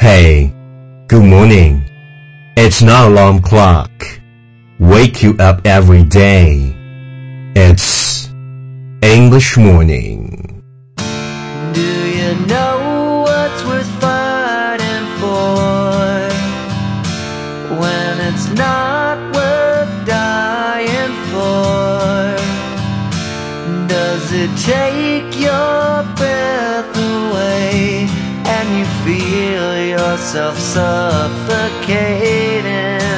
Hey, good morning. It's not alarm clock. Wake you up every day. It's English morning. Do you know what's worth fighting for when it's not worth dying for? Does it take your breath away and you feel yourself suffocating?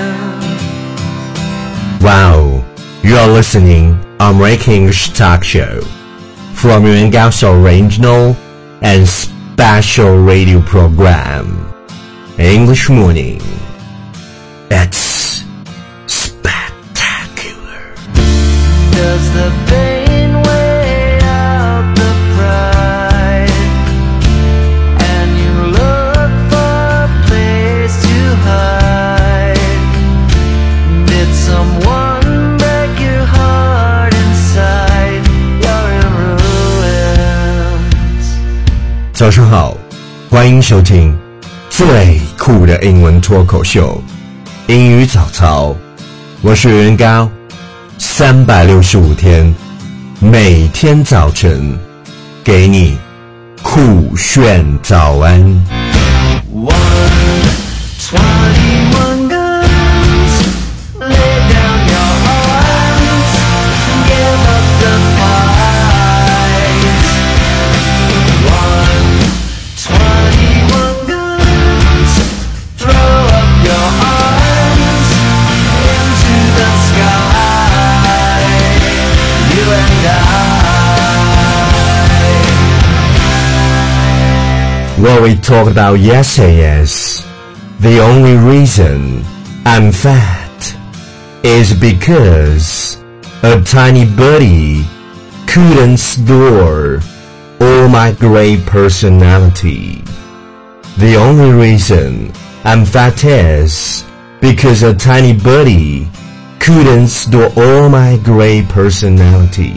Wow, you are listening American English Talk Show from Yuan Gao's original and special radio program, English Morning. It's spectacular. Does the pain weigh out the pride and you look for a place to hide? Did someone break your heart inside? You're in ruins. 早上好，欢迎收听最酷的英文脱口秀英语早操，我是袁高，365天，每天早晨给你酷炫早安。 121 guns, lay down your arms, give up the fight. 121 guns, throw up your arms into the sky. You and I. What we talked about yesterday is the only reason I'm fat is because a tiny birdie couldn't store all my great personality. The only reason I'm fat is because a tiny birdie couldn't store all my great personality.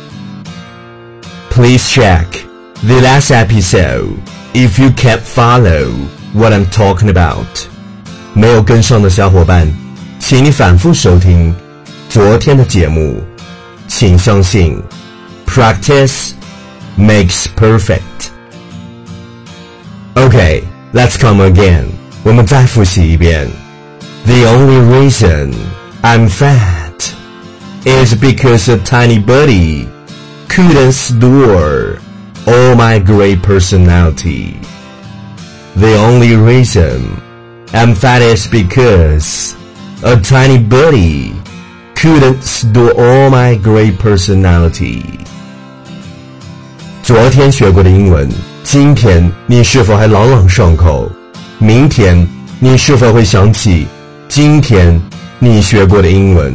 Please check the last episode if you can't follow what I'm talking about. 没有跟上的小伙伴，请你反复收听昨天的节目。请相信 Practice makes perfect. Okay, let's come again. 我们再复习一遍。The only reason I'm fat is because a tiny birdie couldn't store all my great personality. The only reason I'm fat is because a tiny birdie couldn't store all my great personality. 昨天学过的英文，今天你是否还朗朗上口？明天你是否会想起今天你学过的英文？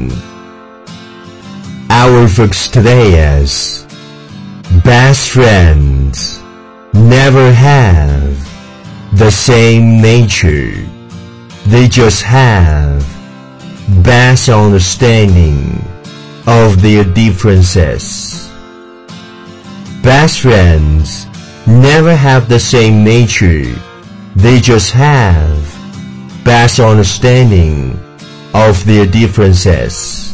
Our focus today is best friends never have the same nature. They just have best understanding of their differences. Best friends never have the same nature. They just have best understanding of their differences.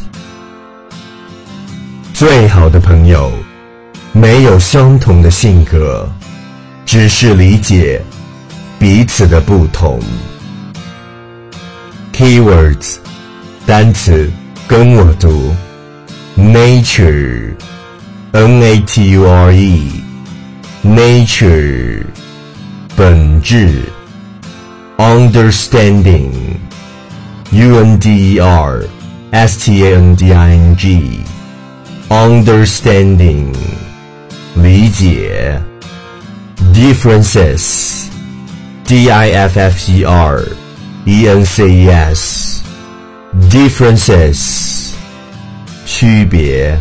最好的朋友没有相同的性格，只是理解彼此的不同。Keywords 单词跟我读 Nature Nature Nature 本质 Understanding Understanding Understanding 理解 Differences Differences Differences 区别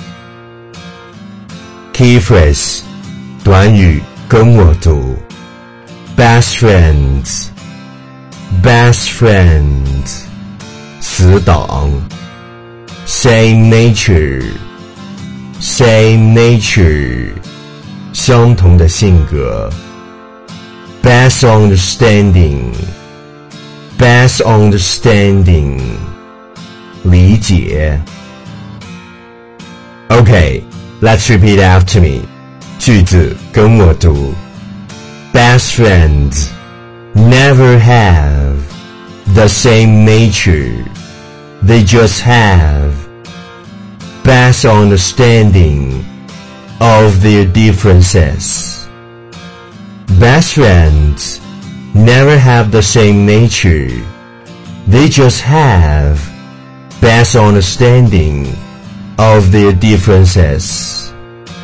Key phrase 短语跟我读 Best friends Best friends 死党 Same nature Same nature 相同的性格 best understanding, best understanding, 理解。Okay, let's repeat after me. 句子跟我读。Best friends never have the same nature. They just have best understanding of their differences. Best friends never have the same nature. They just have best understanding of their differences.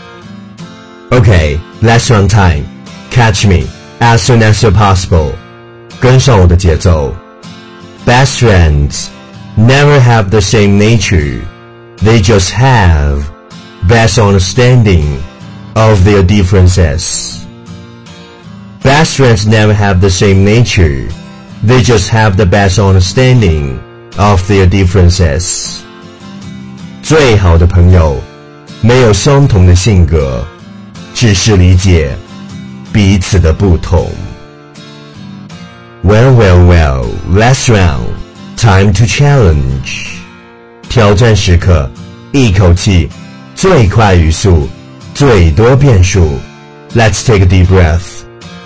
Okay, let's run time. Catch me as soon as you're possible. 跟上我的节奏。Best friends never have the same nature. They just have best understanding of their differences. Best friends never have the same nature. They just have the best understanding of their differences. 最好的朋友没有相同的性格，只是理解彼此的不同。Well, last round. Time to challenge. 挑战时刻，一口气，最快语速，最多变数。Let's take a deep breath.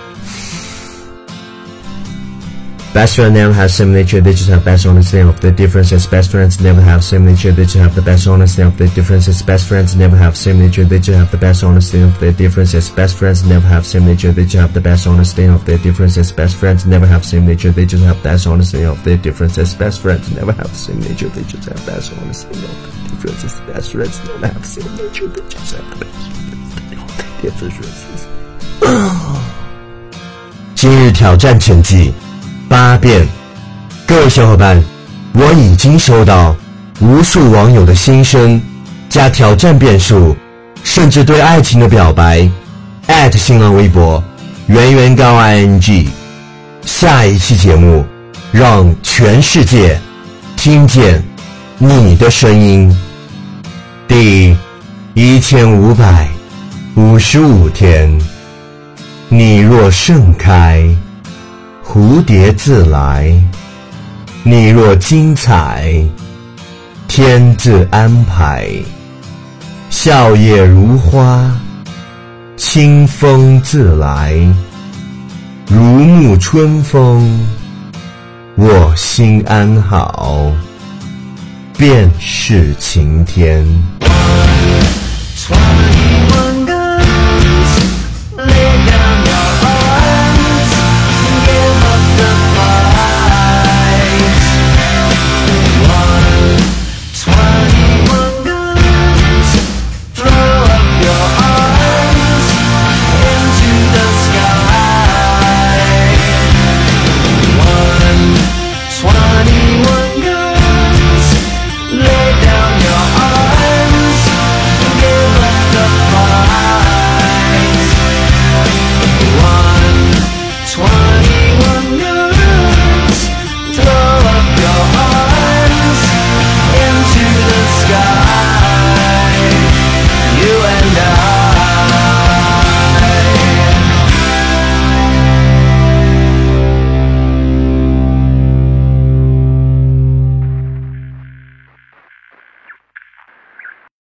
Best friends never have same nature, they just have best understanding of their differences. Best friends never have same nature, they just have the best understanding of their differences. Best friends never have same nature, they just have the best understanding of their differences. Best friends never have same nature, they just have the best understanding of their differences. Best friends never have same nature, they just have best understanding of their differences. Best friends never have same nature, they just have best understanding of their differences. Best friends never have same nature, they just have the best understanding of their differences. 今日挑战成绩8遍。各位小伙伴，我已经收到无数网友的心声加挑战遍数，甚至对爱情的表白。新浪微博圆圆高 ing。下一期节目，让全世界听见你的声音。第1555天，你若盛开，蝴蝶自来；你若精彩，天自安排。笑靥如花，清风自来，如沐春风，我心安好，便是晴天。21